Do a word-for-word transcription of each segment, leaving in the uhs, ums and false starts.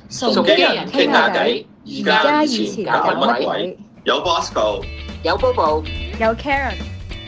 崇基人傾下偈，而家以前搞乜鬼？ 有 Bosco， 有 Bobo， 有 Karen。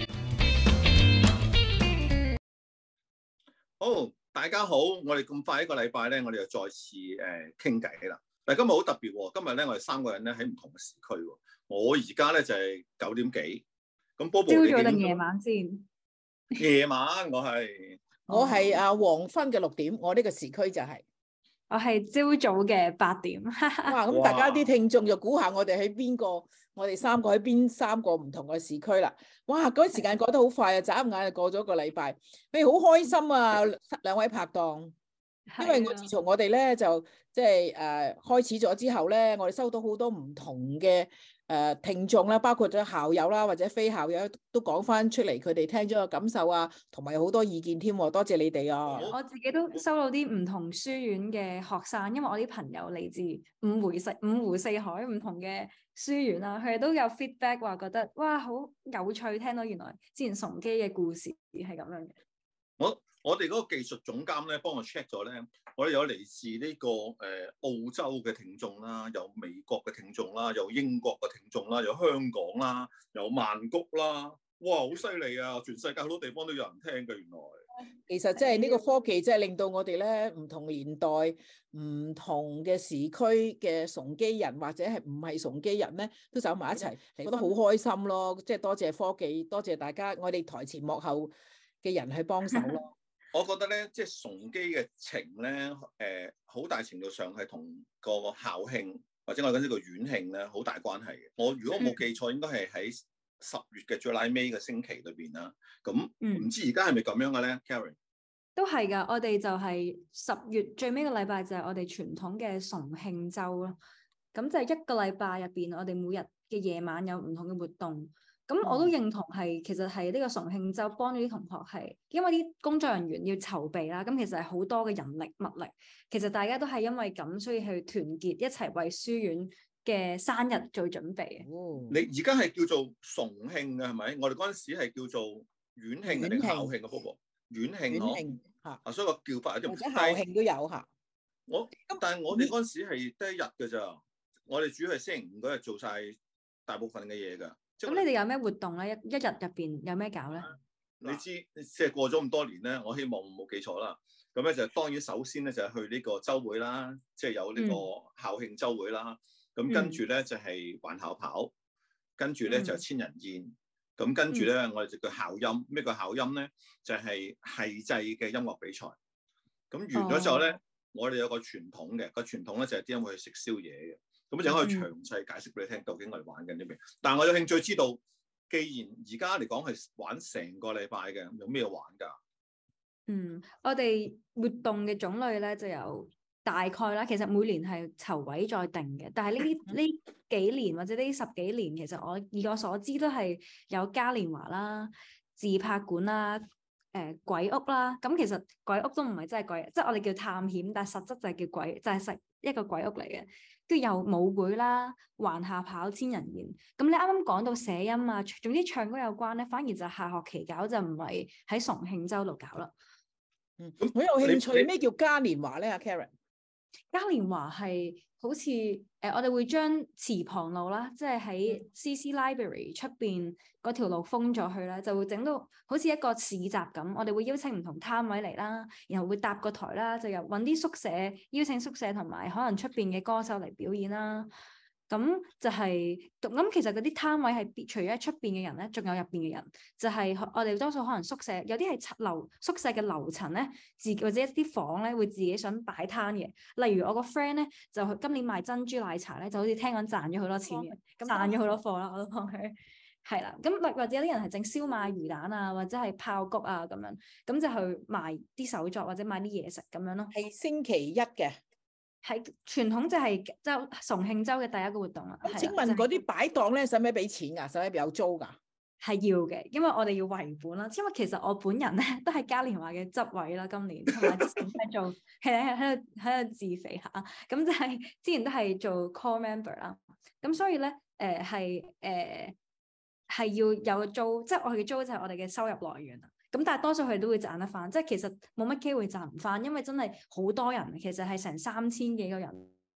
好，大家好，我哋咁快一個禮拜咧，我哋又再次誒傾偈啦。但係今日好特別喎，今日咧我哋三個人咧喺唔同嘅時區喎。我而家咧就係九點幾，咁 Bobo 你朝早定夜晚先？ 夜晚我係我係啊黃昏嘅六點，我呢個時區就係、是。 我係朝早嘅八點。哇！ 咁大家啲聽眾就估下我哋喺邊個？我哋三個喺邊三個唔同嘅時區啦。哇！嗰啲時間過得好快啊，眨眼就過咗一個禮拜。你好開心啊，兩位拍檔。因為我自從我哋咧就即係誒開始咗之後咧，我哋收到好多唔同嘅誒、呃、聽眾啦，包括咗校友啦或者非校友都講翻出嚟，佢哋聽咗個感受啊，同埋有好多意見添。多謝你哋啊！ 我自己都收到啲唔同書院嘅學生，因為我啲朋友嚟自五湖四五湖四海唔同嘅書院啦，佢哋都有 feedback 話覺得哇好有趣，聽到原來之前崇基嘅故事係咁樣嘅。 我我哋嗰個技術總監咧幫我 check 咗咧，我哋有嚟自呢、這個誒、呃、澳洲嘅聽眾啦，有美國嘅聽眾啦，有英國嘅聽眾啦，有香港啦，有曼谷啦，哇好犀利啊！全世界好多地方都有人聽嘅，原來。 其實即係呢個科技，即係令到我哋咧唔同年代、唔同嘅時區嘅崇基人或者係唔係崇基人咧，都走埋一齊，覺得好開心咯！即係多謝科技，多謝大家，我哋台前幕後嘅人去幫手咯。 我覺得咧，即係崇基嘅情咧，誒、呃，好大程度上係同個校慶或者我哋講呢個院慶咧，好大關係嘅。我如果冇記錯，應該係喺十月嘅最拉尾嘅星期裏邊啦。咁唔知而家係咪咁樣嘅咧 Karen？ 都係噶，我哋就係十月最尾個禮拜就係我哋傳統嘅崇慶週咯。咁就係一個禮拜入邊，我哋每日嘅夜晚有唔同嘅活動。咁我都認同係，其實係呢個崇慶週幫咗啲同學係，因為啲工作人員要籌備啦，咁其實係好多嘅人力物力，其實大家都係因為咁，所以去團結一齊為書院嘅生日做準備。 哦，你而家係叫做崇慶嘅係咪？我哋嗰陣時係叫做院慶定校慶嘅 Bobo？院慶， 院慶嚇， 啊，所以個叫法有啲唔同。或者校慶都有嚇。 我但係我哋嗰陣時係得一日嘅咋，我哋主要係星期五嗰日做晒大部分嘅嘢㗎。 咁你哋有咩活動咧？一一日入邊有咩搞咧？ 你知即係過咗咁多年咧，我希望冇記錯啦。咁咧就當然首先咧就係去呢個週會啦，即係有呢個校慶週會啦。咁、嗯、跟住咧就係環校跑，跟住咧就係千人宴。咁、嗯、跟住咧我哋就叫校音。咩叫校音咧？就係系制嘅音樂比賽。咁完咗之後咧，哦、我哋有個傳統嘅，個傳統咧就係啲人會去食宵夜嘅。咁就可以詳細解釋俾你聽，究竟我哋玩緊啲咩？但係我有興趣知道，既然而家嚟講係玩成個禮拜嘅，有咩玩㗎？ 嗯，我哋活動嘅種類咧就有大概啦。其實每年係籌委再定嘅，但係呢啲呢幾年或者呢十幾年，其實我以我所知都係有嘉年華啦、自拍館啦、誒、呃、鬼屋啦。咁其實鬼屋都唔係真係鬼，即係我哋叫探險，但係實質就係叫鬼，就係實一個鬼屋嚟嘅。跟住有舞會啦、環校跑、千人宴。咁你啱啱講到寫音啊，總之唱歌有關咧，反而就下學期搞，就唔係喺崇慶週度搞啦。 嗯，我有興趣咩叫嘉年華咧？阿 Karen， 嘉年華係好似誒、呃，我哋會將池旁路啦，即係喺 C C Library 出邊嗰條路封咗去啦，就會整到好似一個市集咁。我哋會邀請唔同攤位嚟啦，然後會搭個台啦，就由揾啲宿舍邀請宿舍同埋可能出邊嘅歌手嚟表演啦。咁就係、是、咁，其實嗰啲攤位係除咗喺出邊嘅人咧，仲有入邊嘅人。就係、是、我哋多數可能宿舍有啲係樓宿舍嘅樓層咧，自或者一啲房咧會自己想擺攤嘅。例如我個 friend 咧就今年賣珍珠奶茶咧，就好似聽講賺咗好多錢嘅，咁賺咗好多貨啦，我都幫佢係啦。咁或或者有啲人係整燒賣魚蛋啊，或者係爆谷啊咁樣，咁就去賣啲手作或者賣啲嘢食咁樣咯。 係星期一嘅。 係傳統就係周崇慶週嘅第一個活動啦。 咁請問嗰啲擺檔咧，使唔使俾錢㗎？使唔使有租㗎？ 係要嘅，因為我哋要維本啦。因為其實我本人咧都係嘉年華嘅執委啦，今年同埋之前係做係喺喺度喺度自肥下，咁就係之前都係做 core member 啦。咁所以咧誒係誒係要有租，即係我哋嘅租就係我哋嘅收入來源啦。咁但係多數佢哋都會賺得翻，即係其實冇乜機會賺唔翻，因為真係好多人，其實係成三千幾個人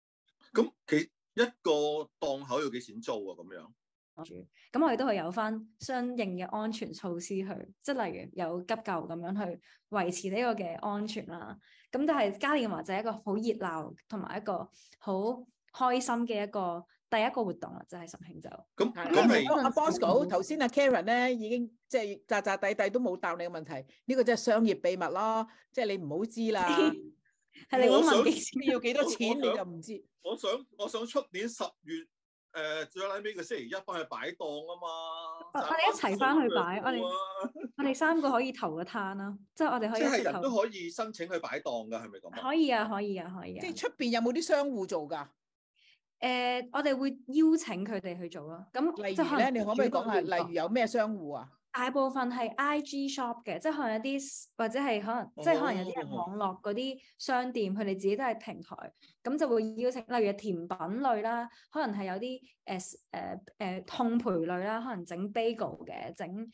咁其一個檔口要幾錢租啊？咁樣？ 咁我哋都係有翻相應嘅安全措施去，即係例如有急救咁樣去維持呢個嘅安全啦。咁但係嘉年華就係一個好熱鬧同埋一個好開心嘅一個第一個活動啦，就係神慶酒。 咁咁係阿 Bosco 頭先阿 Karen 咧已經即係扎扎地地都冇答你嘅問題，呢個即係商業秘密咯，即係你唔好知啦。 係你會問幾錢？ 要幾多錢你就唔知。 我想我想出年十月。誒，最拉尾個星期一翻去擺檔啊嘛！ 我哋一齊翻去擺，我哋我哋三個可以投個攤啦，即係我哋可以。即係人都可以申請去擺檔噶，係咪咁？ 可以啊，可以啊，可以啊。 即係出邊有冇啲商戶做噶？ 誒，我哋會邀請佢哋去做咯。咁例如咧，你可唔可以講下？例如有咩商戶啊？ 大部分係 I G shop 嘅，即係可能有啲或者係可能，哦、即係可能有啲人網絡嗰啲商店，佢哋自己都係平台，咁就會邀請，例如甜品類啦，可能係有啲誒誒誒烘焙類啦，可能整 bagel 嘅，整誒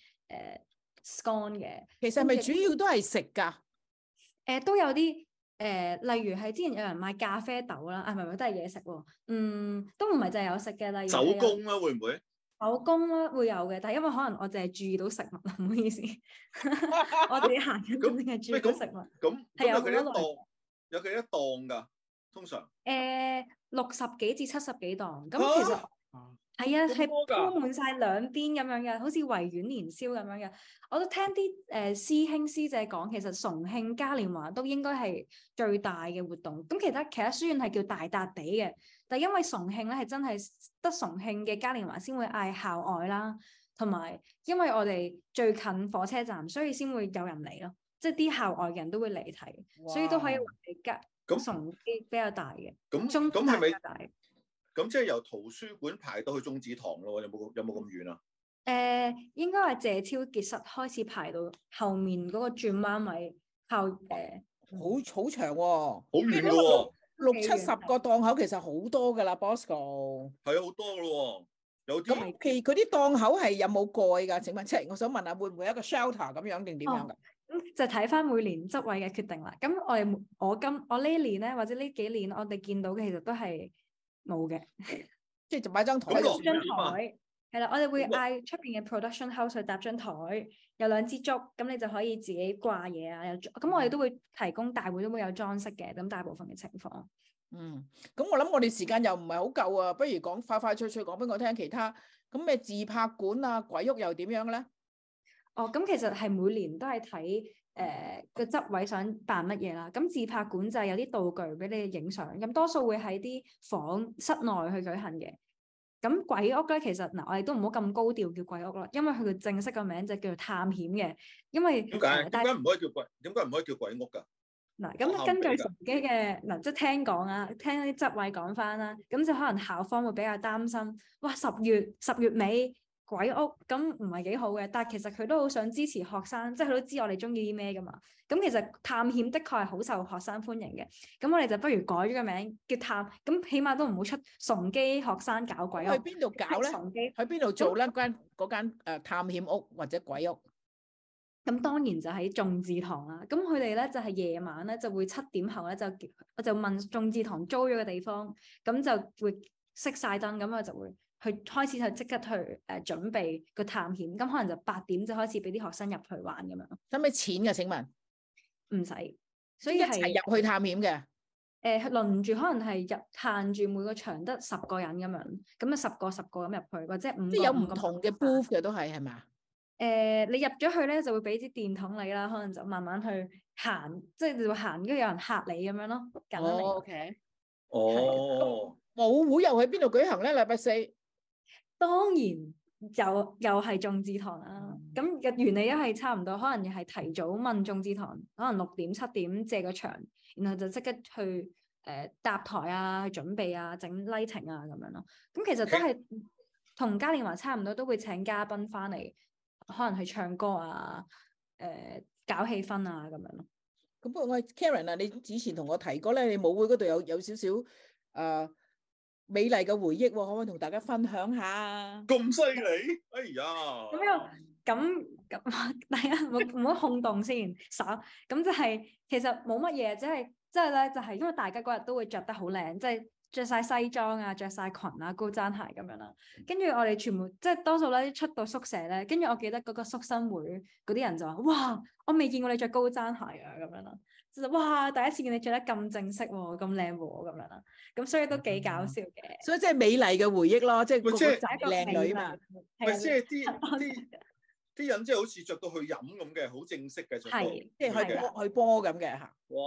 scone 嘅。 其實係咪主要都係食㗎？誒、 呃、都有啲誒、呃，例如係之前有人賣咖啡豆啦，啊唔係唔係都係嘢食喎，嗯，都唔係淨係有食嘅，例如手工啦，會唔會？ 手工啦會有嘅，但係因為可能我淨係注意到食物，唔好意思，我哋行緊淨係注意到食物。 咁係有幾多檔？有幾多檔㗎？通常誒六十幾至七十幾檔，咁其實係啊，係鋪滿晒兩邊咁樣嘅，好似維園年宵咁樣嘅。我都聽啲誒、呃、師兄師姐講，其實重慶嘉年華都應該係最大嘅活動。咁其他其他書院係叫大笪地嘅，但係因為重慶咧係真係得重慶嘅嘉年華先會嗌校外啦，同埋因為我哋最近火車站，所以先會有人嚟咯。即係啲校外嘅人都會嚟睇，哇所以都可以話係嘉重啲比較大嘅。 咁中咁係咪大？ 咁即係由圖書館排到去中子堂咯？有冇有冇咁遠啊？ 誒、呃，應該係謝超傑室開始排到後面嗰個轉彎位後誒， 好好長喎，好遠嘅喎， 六七十個檔口其實好多噶啦 Bosco。 係啊，好多咯，有啲。 咁其佢啲檔口係有冇蓋㗎？請問，即係我想問下，會唔會有一個 shelter 咁樣定點樣㗎？咁、 哦、就睇翻每年執位嘅決定啦。咁我哋我今我呢年咧，或者呢幾年，我哋見到嘅其實都係。冇嘅， 即係就擺張台。 張台係啦，我哋會嗌出邊嘅 production house 去搭張台，有兩支竹，咁你就可以自己掛嘢啊。有咁我哋都會提供大會都會有裝飾嘅，咁大部分嘅情況。 嗯，咁我諗我哋時間又唔係好夠啊，不如講快快脆脆講俾我聽其他。咁咩自拍館啊、鬼屋又點樣咧？ 哦，咁其實係每年都係睇。誒個執位想辦乜嘢啦？咁自拍館就係有啲道具俾你影相，咁多數會喺啲房室內去舉行嘅。咁鬼屋咧，其實嗱、呃，我哋都唔好咁高調叫鬼屋啦，因為佢嘅正式個名就叫做探險嘅。因為點解？點解唔可以叫鬼？點解唔可以叫鬼屋㗎？ 嗱，咁根據自己嘅嗱，即係聽講啊，聽啲執位講翻啦，咁就可能校方會比較擔心，哇！十月十月尾。鬼屋咁唔係幾好嘅，但係其實佢都好想支持學生，即係佢都知我哋中意啲咩噶嘛。咁其實探險的確係好受學生歡迎嘅。咁我哋就不如改咗個名叫探，咁起碼都唔好出崇基學生搞鬼屋。 去邊度搞咧？崇基喺邊度做咧？間嗰間誒探險屋或者鬼屋？ 咁當然就喺眾志堂啦。咁佢哋咧就係夜晚咧就會七點後咧就我就問眾志堂租咗個地方，咁就會熄晒燈，咁我就會。去開始就即刻去誒、呃、準備個探險，咁可能就八點就開始俾啲學生入去玩咁樣。使唔使錢㗎？請問唔使，所以一齊入去探險嘅。誒、呃、輪住可能係入限住每個場得十個人咁樣，咁啊十個十個咁入去，或者五個即係有唔同嘅 booth 嘅都係係嘛？誒、呃、你入咗去咧就會俾啲電筒你啦，可能就慢慢去行，即係你會行，跟住有人嚇你咁樣咯。簡單嚟。哦 OK。哦。舞會又喺邊度舉行咧？禮拜四。當然又又係眾志堂啦，咁嘅原理一係差唔多，可能又係提早問眾志堂，可能六點七點借個場，然後就即刻去誒、呃、搭台啊、準備啊、整 lighting 啊咁樣咯。咁其實都係同嘉年華差唔多，都會請嘉賓翻嚟，可能去唱歌啊、誒、呃、搞氣氛啊咁樣咯。咁不過我 Karen 啊，你之前同我提過咧，你舞會嗰度有有少少誒。呃美麗嘅回憶，可唔可以同大家分享下？咁犀利，哎呀！咁又咁咁，大家唔好唔好轟動先，稍咁就係其實冇乜嘢，即係即係咧，就係因為大家嗰日都會着得好靚，即係着晒西裝啊，着晒裙啊，高踭鞋咁樣啦。跟住我哋全部即係多數咧出到宿舍咧，跟住我記得嗰個宿生會嗰啲人就話：哇，我未見過你着高踭鞋啊咁樣啦。就哇，第一次見你着得咁正式喎，咁靚喎咁樣啦。咁所以都幾搞笑嘅。 嗯、所以即係美麗嘅回憶咯，即係個個仔靚女嘛。 咪即係啲啲啲人即係好似着到去飲咁嘅，好正式嘅着到， 即係去波去波咁嘅嚇。 哇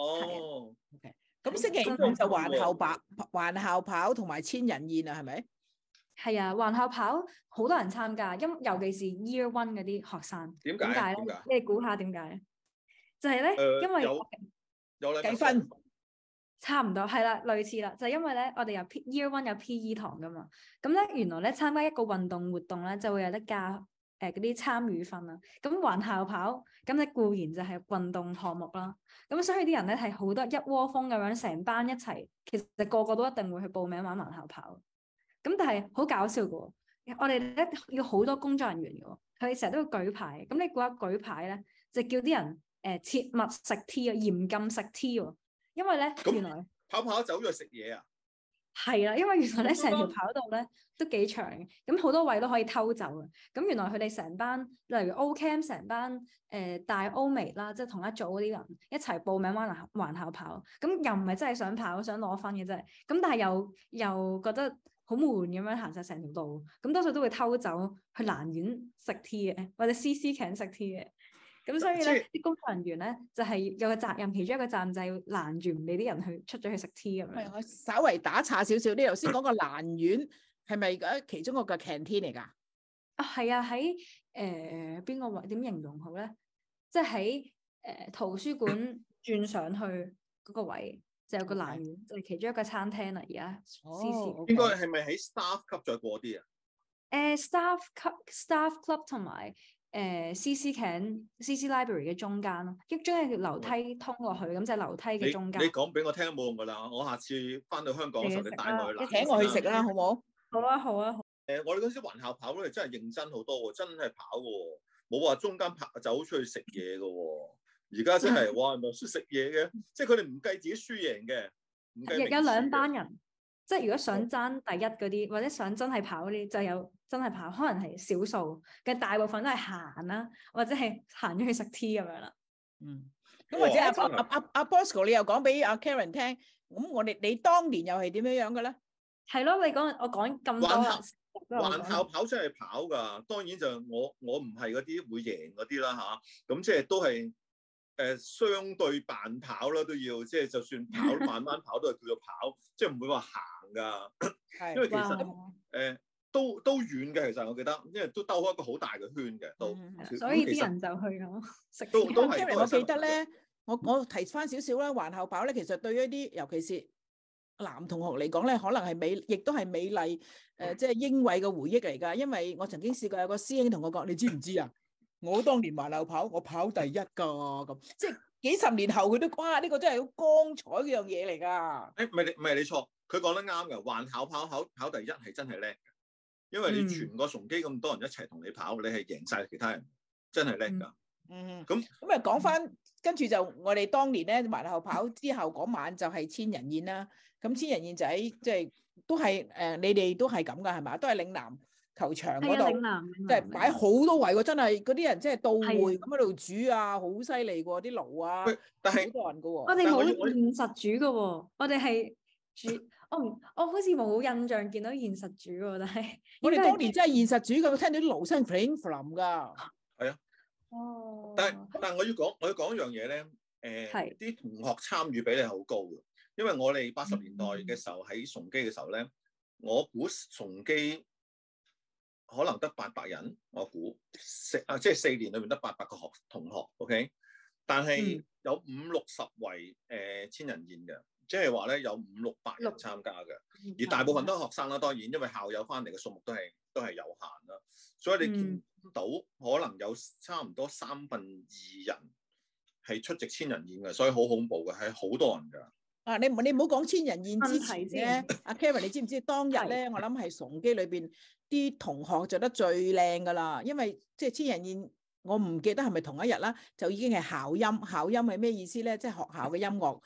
！OK。咁星期五就環校跑，環校跑同埋千人宴啊，係咪？ 係啊，環校跑好多人參加，因尤其是 Year One 嗰啲學生。 點解？點解咧？ 你哋估下點解？就係、是、咧，呃、因為有有計分， 差唔多係啦，類似啦，就係、是、因為咧，我哋有 P, Year One 有 P E 堂噶嘛，咁咧原來咧參加一個運動活動咧就會有得加誒嗰啲參與分啦。咁環校跑咁你固然就係運動項目啦，咁所以啲人咧係好多一窩蜂咁樣成班一齊，其實個個都一定會去報名玩環校跑。咁但係好搞笑噶，我哋咧要好多工作人員噶，佢哋成日都要舉牌。咁你估下舉牌咧，就叫啲人。誒，切勿食 tea 啊，嚴禁食 tea 喎，因為咧原來跑跑走咗去食嘢啊， 係啦，因為原來咧成條跑道咧都幾長，咁好多位都可以偷走嘅。咁原來佢哋成班，例如 O Cam 成班誒、呃、大歐美啦，即係同一組嗰啲人一齊報名玩環環校跑，咁又唔係真係想跑想攞分嘅啫，咁但係又又覺得好悶咁樣行晒成條路，咁多數都會偷走去蘭苑食 tea 嘅，或者 C C Can 食 tea 嘅。咁所以咧，啲工作人員咧就係、是、有個責任，其中一個責任就係要攔住唔俾啲人去出咗去食 tea 咁樣。係，我稍微打岔少少，你頭先講個蘭苑係咪嗰其中一個嘅 canteen 嚟㗎？ 啊，係啊，喺誒邊個位？點形容好咧？即係喺誒圖書館轉上去嗰個位，就有個蘭苑，Okay. 就係其中一個餐廳啦。而家 C C， 哦， 應該係咪喺 staff 級再過啲啊？ 誒、呃、staff 級 staff club 同埋。誒、呃、C C Can C C Library 嘅中間咯，一中間條樓梯通落去，咁、嗯、就係樓梯嘅中間。 你講俾我聽都冇用噶啦，我下次翻到香港嘅時候，你帶我去啦， 請我去食啦，好唔好？ 好啊，好啊。誒、 呃，我哋嗰時環校跑咧，真係認真好多喎，真係跑嘅，冇話中間跑走出去食嘢嘅。而家真係哇，咪識食嘢嘅，即係佢哋唔計自己輸贏嘅，唔計名次嘅。有兩班人。即係如果想爭第一嗰啲，或者想真係跑嗰啲，就有真係跑，可能係少數嘅，大部分都係行啦，或者係行咗去食 tea 咁樣啦。 嗯，咁或者阿阿阿阿 Bosco，你又講俾阿 Karen 聽，咁我哋你當年又係點樣樣嘅咧？ 係咯，你講我講咁多。 環校跑真係跑㗎，當然就我我唔係嗰啲會贏嗰啲啦嚇，咁即係都係。誒、呃、相對慢跑啦，都要即係就算跑慢慢跑都係叫做跑，即係唔會話行㗎。因為其實誒、呃、都都遠嘅，其實我記得，因為都兜開一個好大嘅圈嘅，都。 所以啲人就去咁食。 都都係。我記得咧，我我提翻少少啦，環校跑咧，其實對於一啲尤其是男同學嚟講咧，可能係美，亦都係美麗誒、呃，即係英偉嘅回憶嚟㗎。因為我曾經試過有個師兄同我講，你知唔知啊？我當年環校跑，我跑第一噶，咁即係幾十年後佢都哇，呢、這個真係好光彩嘅樣嘢嚟噶。 誒，唔係你唔係你錯，佢講得啱噶。環校跑跑跑第一係真係叻嘅，因為你全個崇基咁多人一齊同你跑，你係贏晒其他人，真係叻噶。 嗯， 咁咁啊，講翻，跟住就我哋當年咧環校跑之後嗰晚就係千人宴啦。咁千人宴就喺即係都係誒、呃，你哋都係咁噶係嘛？都係嶺南球場嗰度，即係擺好多位喎，真係嗰啲人即係到會咁喺度煮啊，好犀利喎啲爐啊， 但係好多人噶喎。 我哋冇現實煮噶喎，我哋係煮，我唔，我好似冇印象見到現實煮喎，但係我哋當年真係現實煮噶，聽到啲爐聲 fling fling 噶。 係啊，哦，但係但係我要講我要講一樣嘢咧，誒，啲同學參與比例好高嘅，因為我哋八十年代嘅時候喺崇基嘅時候咧，我估崇基。可能得八百人，我估四啊，即係四年裏面得八百個學同學 ，OK。但係有五六十圍誒千人宴嘅，即係話咧有五六百人參加嘅，而大部分都係學生啦。當然，因為校友翻嚟嘅數目都係都係有限啦，所以你見到可能有差唔多三分二人係出席千人宴嘅，所以好恐怖嘅，係好多人㗎。啊！你唔你唔好講千人宴之前咧，阿 Karen 你知唔知當日咧？我諗係崇基裏邊啲同學着得最靚噶啦，因為即係千人宴，我唔記得係咪同一日啦，就已經係校音。校音係咩意思咧？即係學校嘅音樂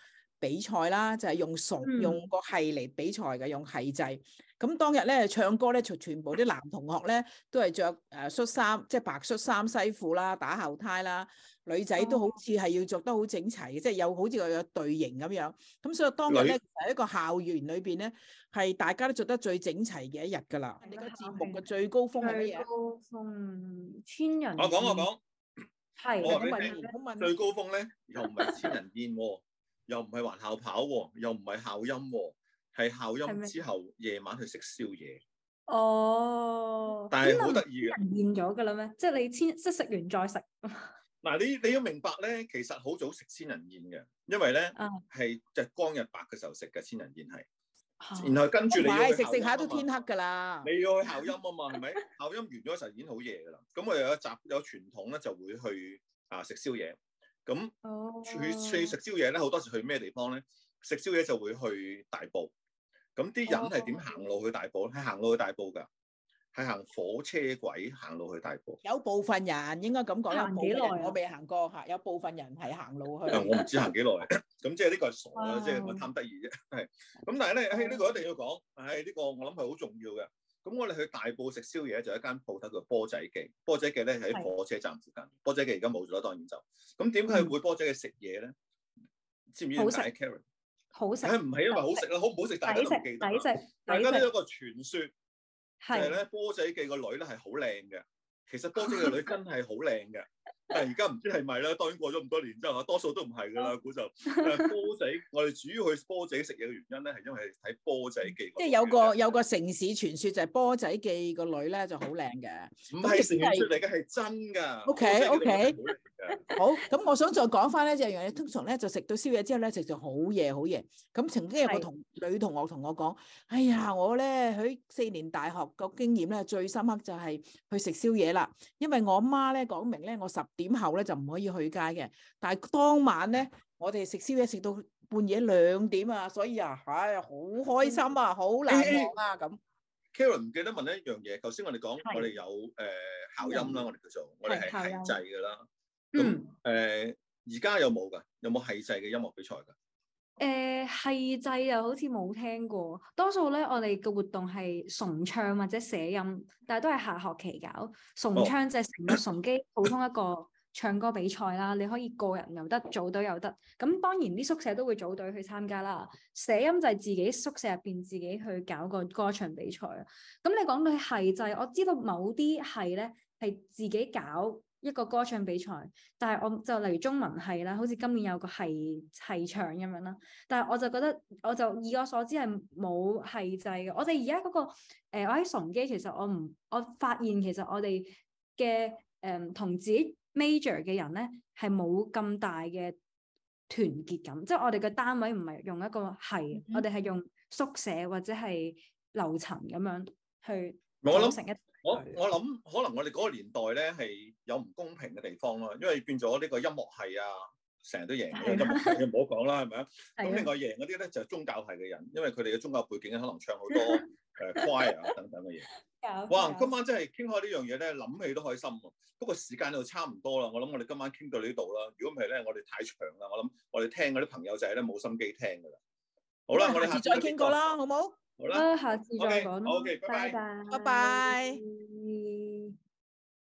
比賽啦，就係、是、用熟、 嗯、 用個係嚟比賽嘅，用係制。咁當日咧唱歌咧，全全部啲男同學咧都係着誒恤衫，即係白恤衫西褲啦，打後呔啦。女仔都好似係要着得好整齊嘅，即係有好似有隊形咁樣。咁所以當日咧，喺一個校園裏邊咧，係大家都着得最整齊嘅一日㗎啦。你個節目嘅最高峰係乜嘢？最高峰千人。 我講我講。 係。 我話俾你聽，最高峰咧又唔係千人宴喎，又唔係環校跑喎，又唔係校音喎，係校音之後夜晚去食宵夜。哦。但係好得意嘅。千人宴咗㗎啦咩？即係你千即係食完再食。 嗱，你你要明白咧，其實好早食千人宴嘅，因為咧係日光日白嘅時候食嘅千人宴係，啊、然後跟住你要去食食下都天黑㗎啦。 你要去校音啊嘛，係咪？校音完咗時候已經好夜㗎啦。咁我又有習有傳統咧，就會去啊食宵夜。咁去去食宵夜咧，好多時去咩地方咧？食宵夜就會去大埔。咁啲人係點行路去大埔咧？係行路去大埔㗎。係行火車軌行路去大埔， 有部分人應該咁講，行幾耐？我未行過嚇，有部分人係行路去。 我唔知行幾耐，咁即係呢個係傻啦，即係我貪得意啫。係咁，但係咧，誒呢個一定要講，誒呢個我諗係好重要嘅。咁我哋去大埔食宵夜就一間鋪頭叫波仔記，波仔記咧喺火車站附近。波仔記而家冇咗啦，當然就咁點解會波仔記食嘢咧？知唔知點解 Karen？ 好食， 係唔係因為好食啦？好唔好食？大家都唔記得。 抵食， 大家都有一個傳説。就係咧，波仔記個女咧係好靚嘅。其實波仔記個女真係好靚嘅，但係而家唔知係咪啦。當然過咗咁多年之後，多數都唔係噶啦。估就波仔，我哋主要去波仔食嘢嘅原因咧，係因為睇波仔記。 即係有個有個城市傳說就係波仔記個女咧就好靚嘅。唔係城市傳說嚟嘅，係真㗎。 O K O K。好，咁我想再講翻咧，就係通常咧就食到宵夜之後咧，食到好夜好夜。咁曾經有個同女同學同我講：哎呀，我咧喺四年大學個經驗咧最深刻就係去食宵夜啦。因為我媽咧講明咧，我十點後咧就唔可以去街嘅。但係當晚咧，我哋食宵夜食到半夜兩點啊，所以啊，唉，好開心啊，好難忘啊咁。 Karen 唔記得問一樣嘢，頭先我哋講我哋有誒校音啦，我哋叫做我哋係係制㗎啦。咁誒而家有冇㗎？有冇係制嘅音樂比賽㗎？ 誒係制又好似冇聽過，多數咧我哋嘅活動係崇唱或者寫音，但係都係下學期搞。崇唱就係成個崇基普通一個唱歌比賽啦，你可以個人又得，組隊又得。咁當然啲宿舍都會組隊去參加啦。寫音就係自己宿舍入邊自己去搞個歌唱比賽啊。咁你講到係制，我知道某啲係咧係自己搞一個歌唱比賽，但係我就例如中文系啦，好似今年有個係係唱咁樣啦。但係我就覺得，我就以我所知係冇係制嘅。我哋而家嗰個誒、呃，我喺崇基，其實我唔，我發現其實我哋嘅誒同自己 major 嘅人咧係冇咁大嘅團結感，即係我哋嘅單位唔係用一個係，嗯、我哋係用宿舍或者係樓層咁樣去組成一。 我我諗可能我哋嗰個年代咧係有唔公平嘅地方咯，因為變咗呢個音樂系啊，成日都贏嘅音樂系，唔好講啦，係咪啊？咁另外贏嗰啲咧就係宗教系嘅人，因為佢哋嘅宗教背景可能唱好多誒 choir 啊等等嘅嘢。哇！今晚真係傾開呢樣嘢咧，諗起都開心喎。不過時間就差唔多啦，我諗我哋今晚傾到呢度啦。如果唔係咧，我哋太長啦，我諗我哋聽嗰啲朋友仔咧冇心機聽㗎啦。好啦，我哋下次再傾過啦，好冇？ 好啦， 下次再講。 好嘅，拜拜， 拜拜。